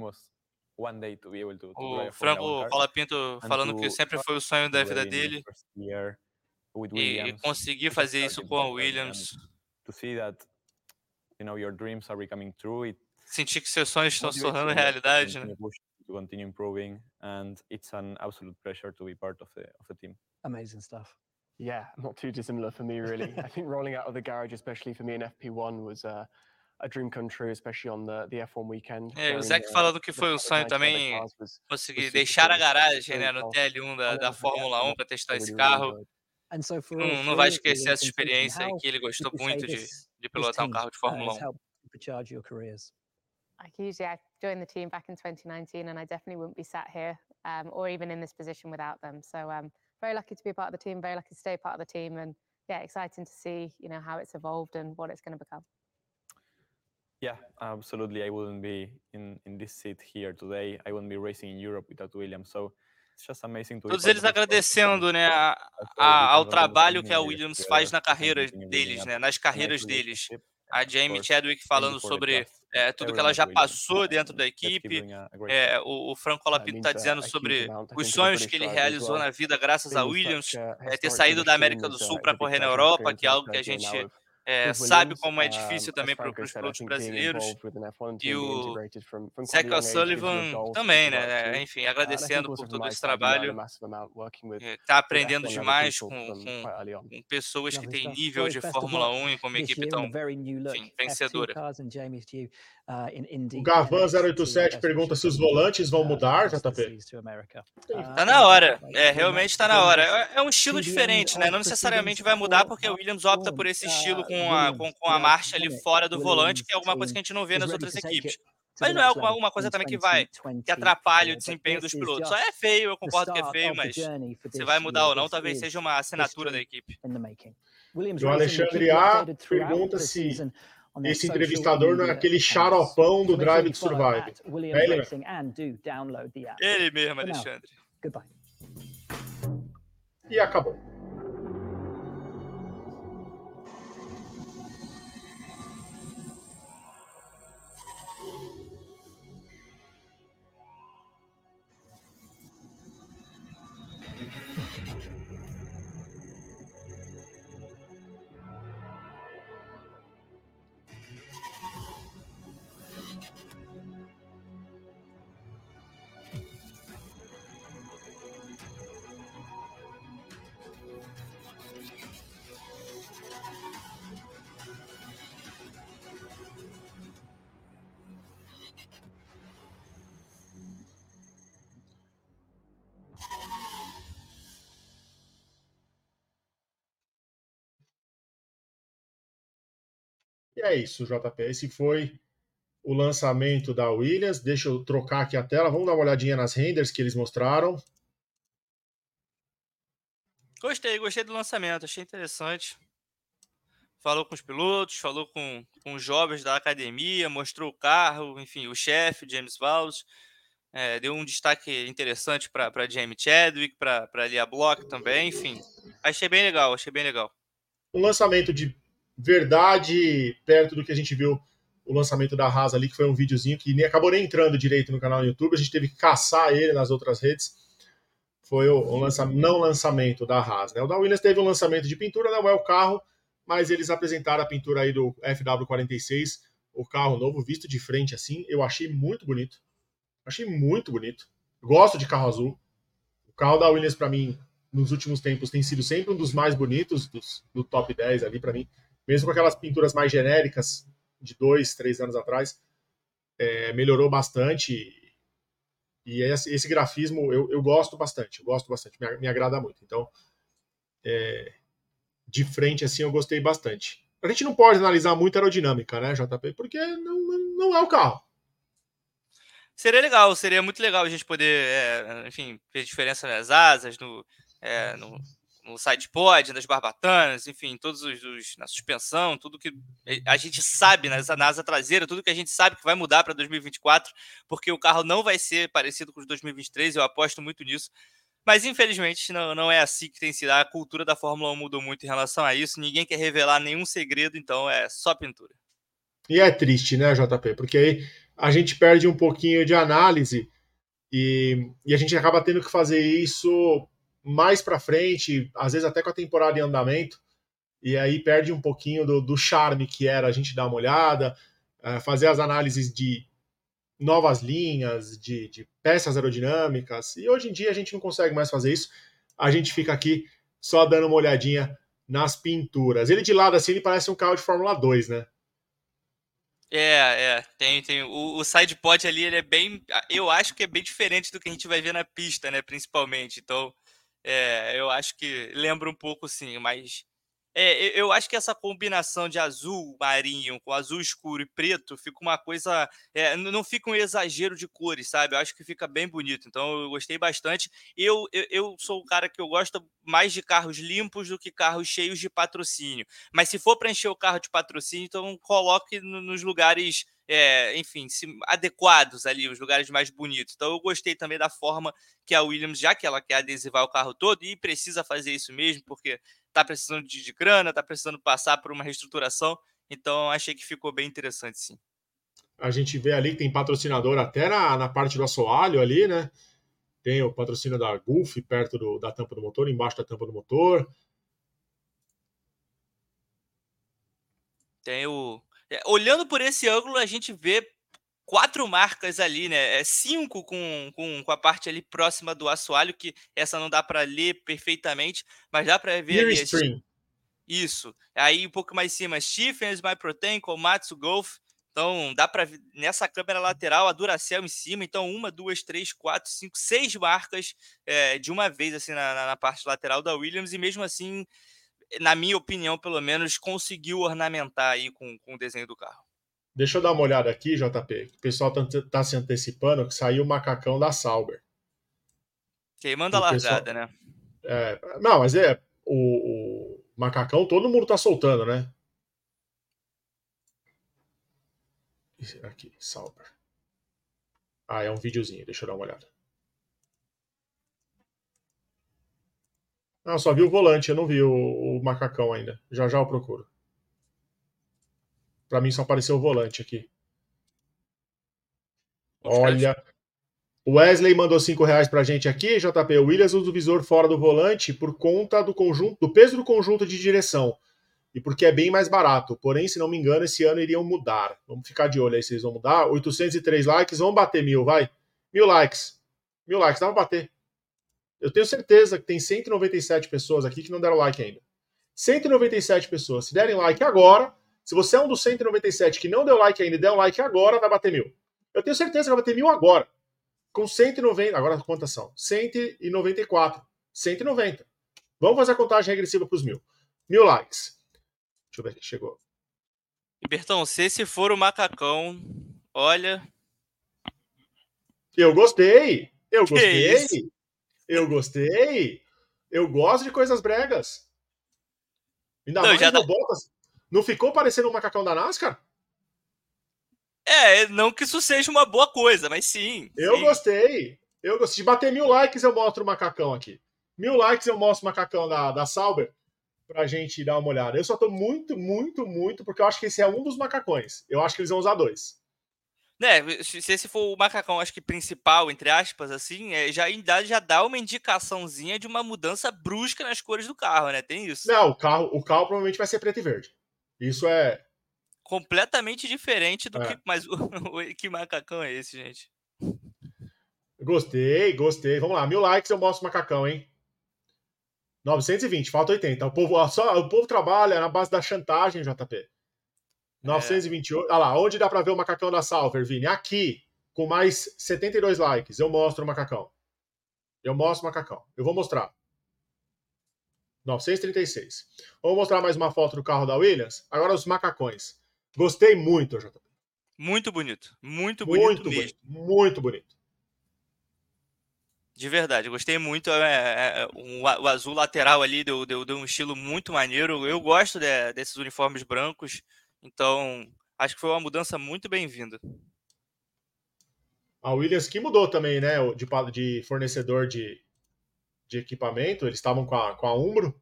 O Franco Colapinto falando que sempre foi o sonho da vida dele e conseguir fazer isso com a Williams. Sentir que seus sonhos estão se tornando realidade, né? To continue improving, and it's an absolute pleasure to be part of the team. Amazing stuff. Yeah, not too dissimilar for me, really. I think rolling out of the garage, especially for me in FP1, was a dream come true, especially on the F1 weekend. O Zach falando que foi um sonho também conseguir deixar a garagem, né, no TL1 da Fórmula 1 para testar esse carro. Não vai esquecer essa experiência que ele gostou muito de pilotar um carro de Fórmula 1. Like usually I joined the team back in 2019 and I definitely wouldn't be sat here or even in this position without them. So very lucky to be a part of the team, very lucky to stay part of the team, and yeah, exciting to see, you know, how it's evolved and what it's going to become. Yeah, absolutely. I wouldn't be in this seat here today. I wouldn't be racing in Europe without Williams. So it's just amazing to Todos eles agradecendo, né, ao trabalho que a Williams faz na carreira deles, né, nas carreiras deles. A Jamie Chadwick falando sobre tudo que ela já passou dentro da equipe. O Franco Colapinto está dizendo sobre os sonhos que ele realizou na vida graças a Williams, ter saído da América do Sul para correr na Europa, que é algo que a gente sabe como é difícil também para os pilotos brasileiros. E o Zach Sullivan também, né? Enfim, agradecendo por todo esse trabalho. Está aprendendo demais com pessoas que têm nível de Fórmula 1 e com uma equipe tão vencedora. O Gavan 087 pergunta se os volantes vão mudar, JP? Tá na hora, realmente tá na hora. É um estilo diferente, né? Não necessariamente vai mudar porque a Williams opta por esse estilo com a marcha ali fora do volante, que é alguma coisa que a gente não vê nas outras equipes. Mas não é alguma coisa também que atrapalhe o desempenho dos pilotos. Só é feio, eu concordo que é feio, mas se vai mudar ou não, talvez seja uma assinatura da equipe. O Alexandre A pergunta se on their esse social entrevistador não é media aquele accounts. xaropão do So make sure Drive you to follow Survive. at É Williams ele mesmo. Racing and do download the app. Ele mesmo, For now, Alexandre. goodbye. E acabou. E é isso, JP. Esse foi o lançamento da Williams. Deixa eu trocar aqui a tela. Vamos dar uma olhadinha nas renders que eles mostraram. Gostei do lançamento, achei interessante. Falou com os pilotos, falou com os jovens da academia, mostrou o carro, enfim, o chefe, James Vowles. Deu um destaque interessante para Jamie Chadwick, para Leah Block também, enfim. Achei bem legal. Um lançamento de verdade, perto do que a gente viu o lançamento da Haas ali, que foi um videozinho que acabou nem entrando direito no canal do YouTube, a gente teve que caçar ele nas outras redes. Foi o não lançamento da Haas, né? O da Williams teve um lançamento de pintura, não é o carro, mas eles apresentaram a pintura aí do FW46, o carro novo, visto de frente assim, eu achei muito bonito. Gosto de carro azul. O carro da Williams, para mim, nos últimos tempos, tem sido sempre um dos mais bonitos do top 10 ali, para mim. Mesmo com aquelas pinturas mais genéricas de 2, 3 anos atrás, melhorou bastante. E esse grafismo eu gosto bastante. Me agrada muito. Então, de frente, assim, eu gostei bastante. A gente não pode analisar muito a aerodinâmica, né, JP? Porque não é o carro. Seria muito legal a gente poder, enfim, ver diferença nas asas, no sidepod, nas barbatanas, enfim, na suspensão, tudo que a gente sabe na asa traseira, tudo que a gente sabe que vai mudar para 2024, porque o carro não vai ser parecido com os 2023, eu aposto muito nisso. Mas, infelizmente, não é assim que tem sido. A cultura da Fórmula 1 mudou muito em relação a isso, ninguém quer revelar nenhum segredo, então é só pintura. E é triste, né, JP? Porque aí a gente perde um pouquinho de análise e a gente acaba tendo que fazer isso mais para frente, às vezes até com a temporada em andamento, e aí perde um pouquinho do charme que era a gente dar uma olhada, fazer as análises de novas linhas, de peças aerodinâmicas, e hoje em dia a gente não consegue mais fazer isso, a gente fica aqui só dando uma olhadinha nas pinturas. Ele de lado assim, ele parece um carro de Fórmula 2, né? Tem o sidepod ali, ele é bem, eu acho que é bem diferente do que a gente vai ver na pista, né, principalmente, então, eu acho que lembra um pouco, sim, mas eu acho que essa combinação de azul marinho com azul escuro e preto fica uma coisa, não fica um exagero de cores, sabe, eu acho que fica bem bonito, então eu gostei bastante. Eu sou um cara que eu gosto mais de carros limpos do que carros cheios de patrocínio, mas se for para encher o carro de patrocínio, então coloque nos lugares, enfim, adequados ali, os lugares mais bonitos. Então eu gostei também da forma que a Williams, já que ela quer adesivar o carro todo, e precisa fazer isso mesmo, porque está precisando de grana, está precisando passar por uma reestruturação, então achei que ficou bem interessante, sim. A gente vê ali que tem patrocinador até na parte do assoalho ali, né? Tem o patrocínio da Gulf perto da tampa do motor, embaixo da tampa do motor. Tem olhando por esse ângulo, a gente vê 4 marcas ali, né? 5 com a parte ali próxima do assoalho, que essa não dá para ler perfeitamente, mas dá para ver ali. Isso. Aí um pouco mais em cima, Stephens, MyProtein, Komatsu, Golf. Então dá para ver nessa câmera lateral a Duracell em cima. Então 1, 2, 3, 4, 5, 6 marcas de uma vez assim na parte lateral da Williams, e mesmo assim, na minha opinião, pelo menos, conseguiu ornamentar aí com o desenho do carro. Deixa eu dar uma olhada aqui, JP. O pessoal tá se antecipando que saiu o macacão da Sauber. Queimando a largada, né? Não, mas o macacão todo mundo tá soltando, né? Aqui, Sauber. Ah, é um videozinho, deixa eu dar uma olhada. Não, só vi o volante, eu não vi o macacão ainda. Já já eu procuro. Pra mim só apareceu o volante aqui. Olha. O Wesley mandou R$5 pra gente aqui, JP. O Williams usa o visor fora do volante por conta do conjunto, do peso do conjunto de direção. E porque é bem mais barato. Porém, se não me engano, esse ano iriam mudar. Vamos ficar de olho aí se eles vão mudar. 803 likes, vamos bater 1000, vai. 1000 likes. 1000 likes, dá pra bater. Eu tenho certeza que tem 197 pessoas aqui que não deram like ainda. 197 pessoas. Se derem like agora, se você é um dos 197 que não deu like ainda e der um like agora, vai bater 1000. Eu tenho certeza que vai bater 1000 agora. Com 190. Agora quantas são? 194. 190. Vamos fazer a contagem regressiva para os 1000. 1000 likes. Deixa eu ver aqui, chegou. E Bertão, se esse for o macacão, olha. Eu gostei. Eu Que gostei. isso? Eu gostei. Eu gosto de coisas bregas. Ainda Não, mais já no Bottas. Não ficou parecendo um macacão da NASCAR? Não que isso seja uma boa coisa, mas sim. Eu sim. gostei. Eu gostei. Se bater 1000 likes, eu mostro o macacão aqui. 1000 likes, eu mostro o macacão da Sauber pra gente dar uma olhada. Eu só tô muito, porque eu acho que esse é um dos macacões. Eu acho que eles vão usar 2. Se esse for o macacão, acho que principal, entre aspas, assim, já dá uma indicaçãozinha de uma mudança brusca nas cores do carro, né? Tem isso. Não, o carro provavelmente vai ser preto e verde. Isso é completamente diferente do que. Mas que macacão é esse, gente? Gostei. Vamos lá, 1000 likes, eu mostro o macacão, hein? 920, falta 80. O povo trabalha na base da chantagem, JP. 928. Olha lá, onde dá pra ver o macacão da Sauber, Vini? Aqui, com mais 72 likes, eu mostro o macacão. Eu mostro o macacão. Eu vou mostrar. 936. Vamos mostrar mais uma foto do carro da Williams. Agora os macacões. Gostei muito, JP. Muito bonito. Muito bonito mesmo. Muito bonito. De verdade, gostei muito. O azul lateral ali deu um estilo muito maneiro. Eu gosto desses uniformes brancos. Então, acho que foi uma mudança muito bem-vinda. A Williams que mudou também, né? De fornecedor de equipamento. Eles estavam com a Umbro.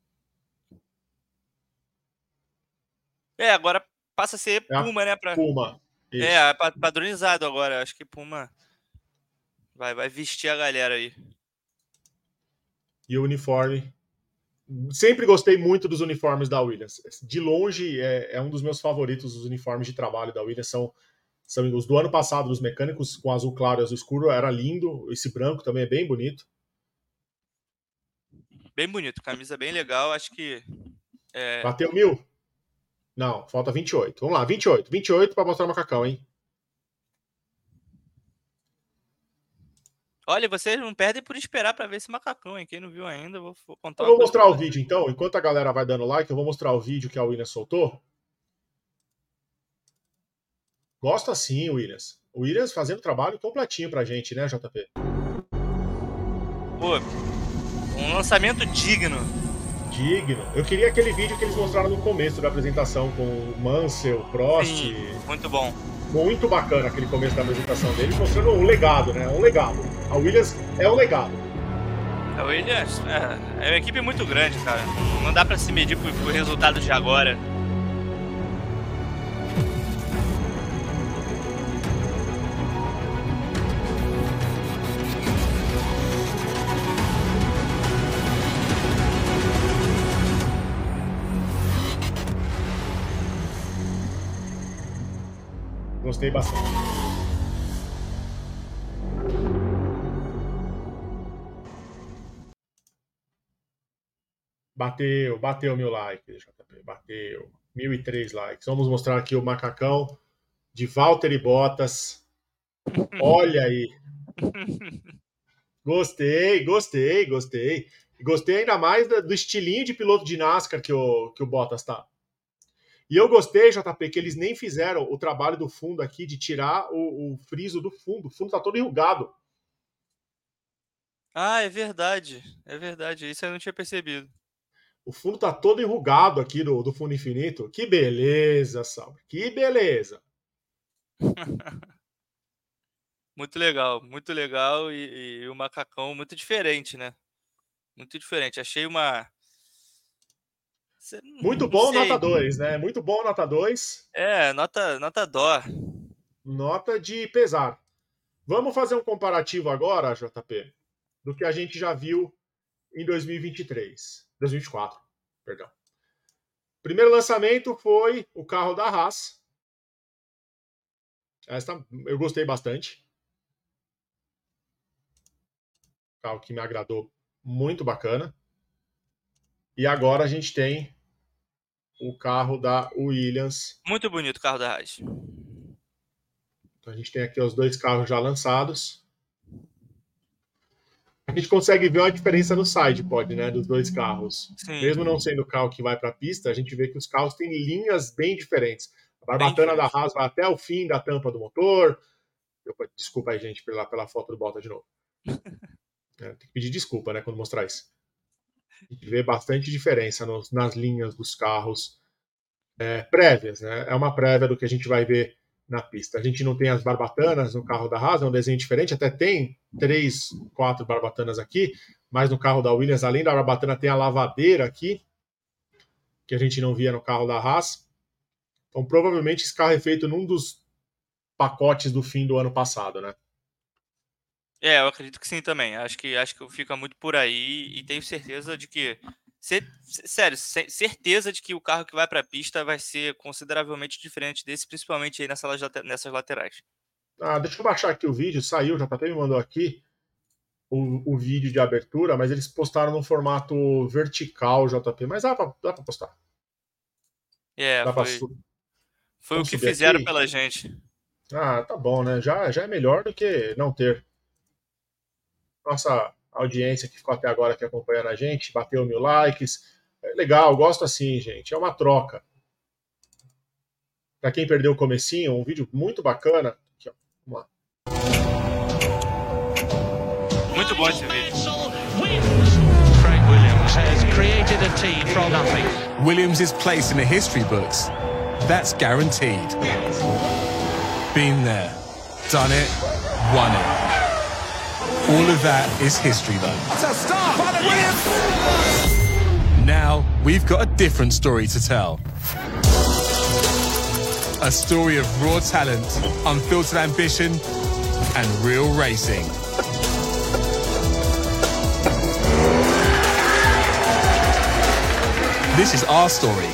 Agora passa a ser Puma, né? Puma. Isso. Padronizado agora. Acho que Puma vai vestir a galera aí. E o uniforme. Sempre gostei muito dos uniformes da Williams. De longe, é um dos meus favoritos. Os uniformes de trabalho da Williams são os do ano passado, dos mecânicos com azul claro e azul escuro. Era lindo. Esse branco também é bem bonito. Bem bonito. Camisa bem legal. Acho que... Bateu 1000? Não, falta 28. Vamos lá, 28. 28 para mostrar o macacão, hein? Olha, vocês não perdem por esperar para ver esse macacão, hein? Quem não viu ainda, vou contar. Eu vou mostrar o vídeo, então. Enquanto a galera vai dando like, eu vou mostrar o vídeo que a Williams soltou. Gosto assim, Williams. O Williams fazendo trabalho completinho pra gente, né, JP? Pô, um lançamento digno. Digno. Eu queria aquele vídeo que eles mostraram no começo da apresentação com o Mansell, Prost. Sim, muito bom. Muito bacana aquele começo da apresentação deles, mostrando um legado, né? Um legado. A Williams é um legado. A Williams é uma equipe muito grande, cara. Não dá pra se medir por resultados de agora. Gostei bastante. Bateu 1000 likes, JP. Bateu. 1003 likes. Vamos mostrar aqui o macacão de Valtteri Bottas. Olha aí. Gostei. Gostei ainda mais do estilinho de piloto de NASCAR que o Bottas tá. E eu gostei, JP, que eles nem fizeram o trabalho do fundo aqui de tirar o friso do fundo. O fundo tá todo enrugado. Ah, é verdade. É verdade. Isso eu não tinha percebido. O fundo tá todo enrugado aqui do fundo infinito. Que beleza, Sauber. Que beleza. Muito legal e o macacão muito diferente, né? Muito diferente. Achei uma. Muito Não bom, nota sei. 2, né? Muito bom, nota 2. Nota dó. Nota de pesar. Vamos fazer um comparativo agora, JP, do que a gente já viu em 2023. 2024, perdão. Primeiro lançamento foi o carro da Haas. Essa eu gostei bastante. Carro que me agradou, muito bacana. E agora a gente tem o carro da Williams. Muito bonito o carro da Haas. Então a gente tem aqui os dois carros já lançados. A gente consegue ver uma diferença no sidepod, né, dos dois carros. Sim. Mesmo não sendo o carro que vai para a pista, a gente vê que os carros têm linhas bem diferentes. A barbatana da Haas vai até o fim da tampa do motor. Desculpa aí, gente, pela foto do Bottas de novo. Tem que pedir desculpa, né, quando mostrar isso. A gente vê bastante diferença nas linhas dos carros prévias, né? É uma prévia do que a gente vai ver na pista. A gente não tem as barbatanas no carro da Haas, é um desenho diferente, até tem 3, 4 barbatanas aqui, mas no carro da Williams, além da barbatana, tem a lavadeira aqui, que a gente não via no carro da Haas. Então, provavelmente, esse carro é feito num dos pacotes do fim do ano passado, né? Eu acredito que sim também. Acho que fica muito por aí e tenho certeza de que certeza de que o carro que vai para a pista vai ser consideravelmente diferente desse, principalmente aí nessas laterais. Deixa eu baixar aqui o vídeo, saiu, o JP me mandou aqui o vídeo de abertura, mas eles postaram no formato vertical, JP, mas dá pra postar. Foi o que fizeram aqui pela gente. Tá bom, né? Já é melhor do que não ter. Nossa audiência que ficou até agora aqui acompanhando a gente, bateu 1000 likes. É legal, gosto assim, gente. É uma troca. Para quem perdeu o comecinho, um vídeo muito bacana. Aqui, ó. Vamos lá. Muito bom esse vídeo. Craig Williams has created a team from nothing. Williams' place in the history books. That's guaranteed. Been there, done it, won it. All of that is history, though. It's a start by the Williams! Now, we've got a different story to tell. A story of raw talent, unfiltered ambition, and real racing. This is our story.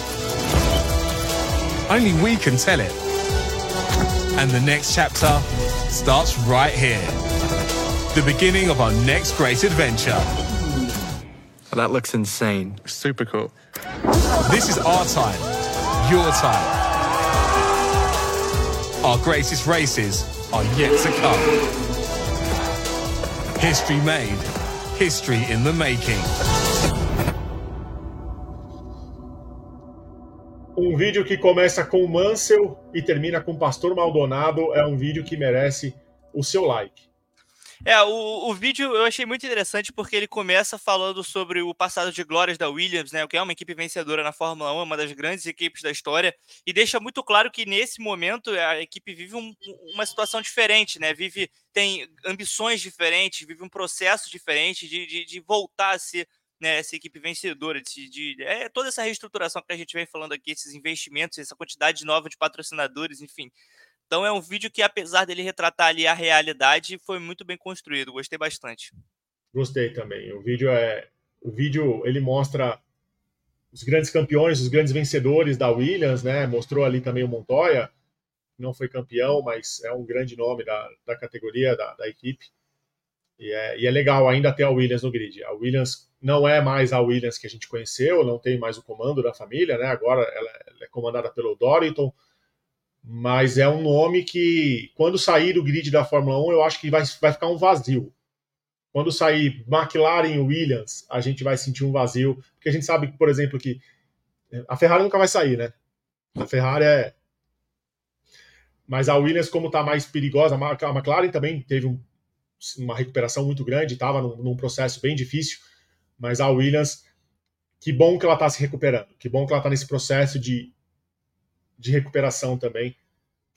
Only we can tell it. And the next chapter starts right here. The beginning of our next great adventure. That looks insane. Super cool. This is our time, your time. Our greatest races are yet to come. History made, history in the making. Um vídeo que começa com Mansell e termina com Pastor Maldonado é um vídeo que merece o seu like. O vídeo eu achei muito interessante porque ele começa falando sobre o passado de glórias da Williams, né, que é uma equipe vencedora na Fórmula 1, uma das grandes equipes da história, e deixa muito claro que nesse momento a equipe vive uma situação diferente, né, tem ambições diferentes, vive um processo diferente de voltar a ser, né, essa equipe vencedora, toda essa reestruturação que a gente vem falando aqui, esses investimentos, essa quantidade nova de patrocinadores, enfim. Então é um vídeo que, apesar dele retratar ali a realidade, foi muito bem construído. Gostei bastante. Gostei também. O vídeo ele mostra os grandes campeões, os grandes vencedores da Williams, né? Mostrou ali também o Montoya, que não foi campeão, mas é um grande nome da categoria, da equipe. E é legal ainda ter a Williams no grid. A Williams não é mais a Williams que a gente conheceu, não tem mais o comando da família, né? Agora ela é comandada pelo Dorilton. Mas é um nome que, quando sair do grid da Fórmula 1, eu acho que vai ficar um vazio. Quando sair McLaren e Williams, a gente vai sentir um vazio, porque a gente sabe, por exemplo, que a Ferrari nunca vai sair, né? A Ferrari Mas a Williams, como está mais perigosa, a McLaren também teve uma recuperação muito grande, estava num processo bem difícil, mas a Williams, que bom que ela está se recuperando, que bom que ela está nesse processo de recuperação também,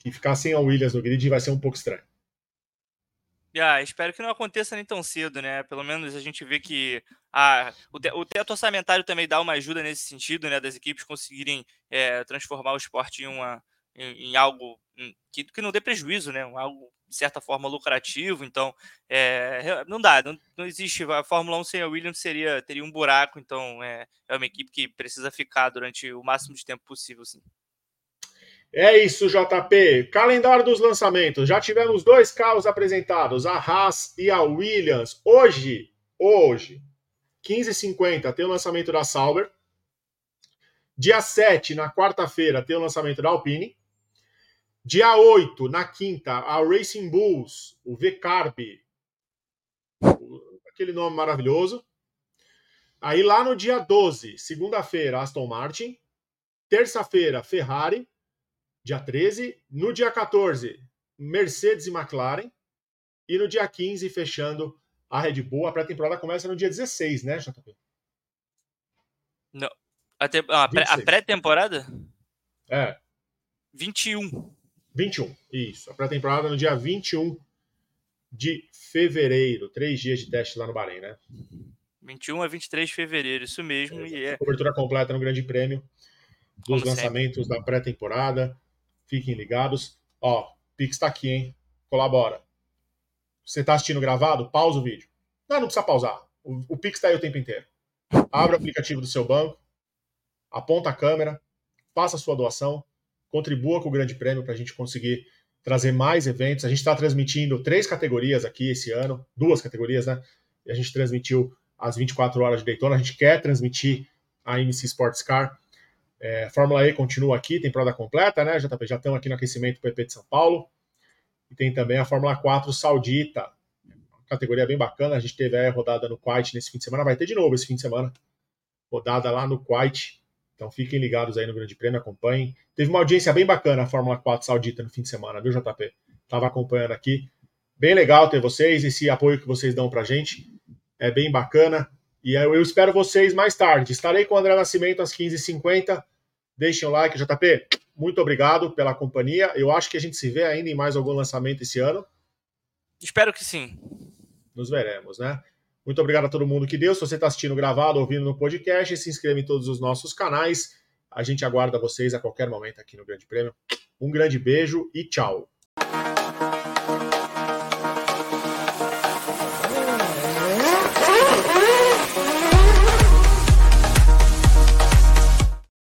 que ficar sem a Williams no grid vai ser um pouco estranho. Espero que não aconteça nem tão cedo, né? Pelo menos a gente vê que o teto orçamentário também dá uma ajuda nesse sentido, né? Das equipes conseguirem transformar o esporte em algo que não dê prejuízo, né? Algo, de certa forma, lucrativo. Então, não dá. Não existe. A Fórmula 1 sem a Williams teria um buraco. Então, é uma equipe que precisa ficar durante o máximo de tempo possível, sim. É isso, JP. Calendário dos lançamentos. Já tivemos 2 carros apresentados, a Haas e a Williams. Hoje, 15h50, tem o lançamento da Sauber. Dia 7, na quarta-feira, tem o lançamento da Alpine. Dia 8, na quinta, a Racing Bulls, o V-Carb. Aquele nome maravilhoso. Aí lá no dia 12, segunda-feira, Aston Martin. Terça-feira, Ferrari. Dia 13, no dia 14, Mercedes e McLaren, e no dia 15, fechando a Red Bull. A pré-temporada começa no dia 16, né, JP? Não. A pré-temporada? 21. 21, isso. A pré-temporada no dia 21 de fevereiro. 3 dias de teste lá no Bahrein, né? 21 a 23 de fevereiro, isso mesmo. Cobertura completa no Grande Prêmio dos lançamentos da pré-temporada. Fiquem ligados. Ó, o Pix tá aqui, hein? Colabora. Você tá assistindo gravado? Pausa o vídeo. Não precisa pausar. O Pix tá aí o tempo inteiro. Abra o aplicativo do seu banco, aponta a câmera, faça a sua doação, contribua com o Grande Prêmio para a gente conseguir trazer mais eventos. A gente está transmitindo 3 categorias aqui esse ano, 2 categorias, né? E a gente transmitiu as 24 horas de Daytona. A gente quer transmitir a MC Sports Car. Fórmula E continua aqui, temporada completa, né? JP? Já estamos aqui no aquecimento do EP de São Paulo. E tem também a Fórmula 4 Saudita, uma categoria bem bacana. A gente teve a rodada no Kuwait nesse fim de semana, vai ter de novo esse fim de semana. Rodada lá no Kuwait. Então fiquem ligados aí no Grande Prêmio, acompanhem. Teve uma audiência bem bacana a Fórmula 4 Saudita no fim de semana, viu, JP? Estava acompanhando aqui. Bem legal ter vocês, esse apoio que vocês dão pra gente. É bem bacana. E eu espero vocês mais tarde. Estarei com o André Nascimento às 15h50. Deixem o like, JP. Muito obrigado pela companhia. Eu acho que a gente se vê ainda em mais algum lançamento esse ano. Espero que sim. Nos veremos, né? Muito obrigado a todo mundo que deu. Se você está assistindo gravado, ouvindo no podcast, se inscreva em todos os nossos canais. A gente aguarda vocês a qualquer momento aqui no Grande Prêmio. Um grande beijo e tchau.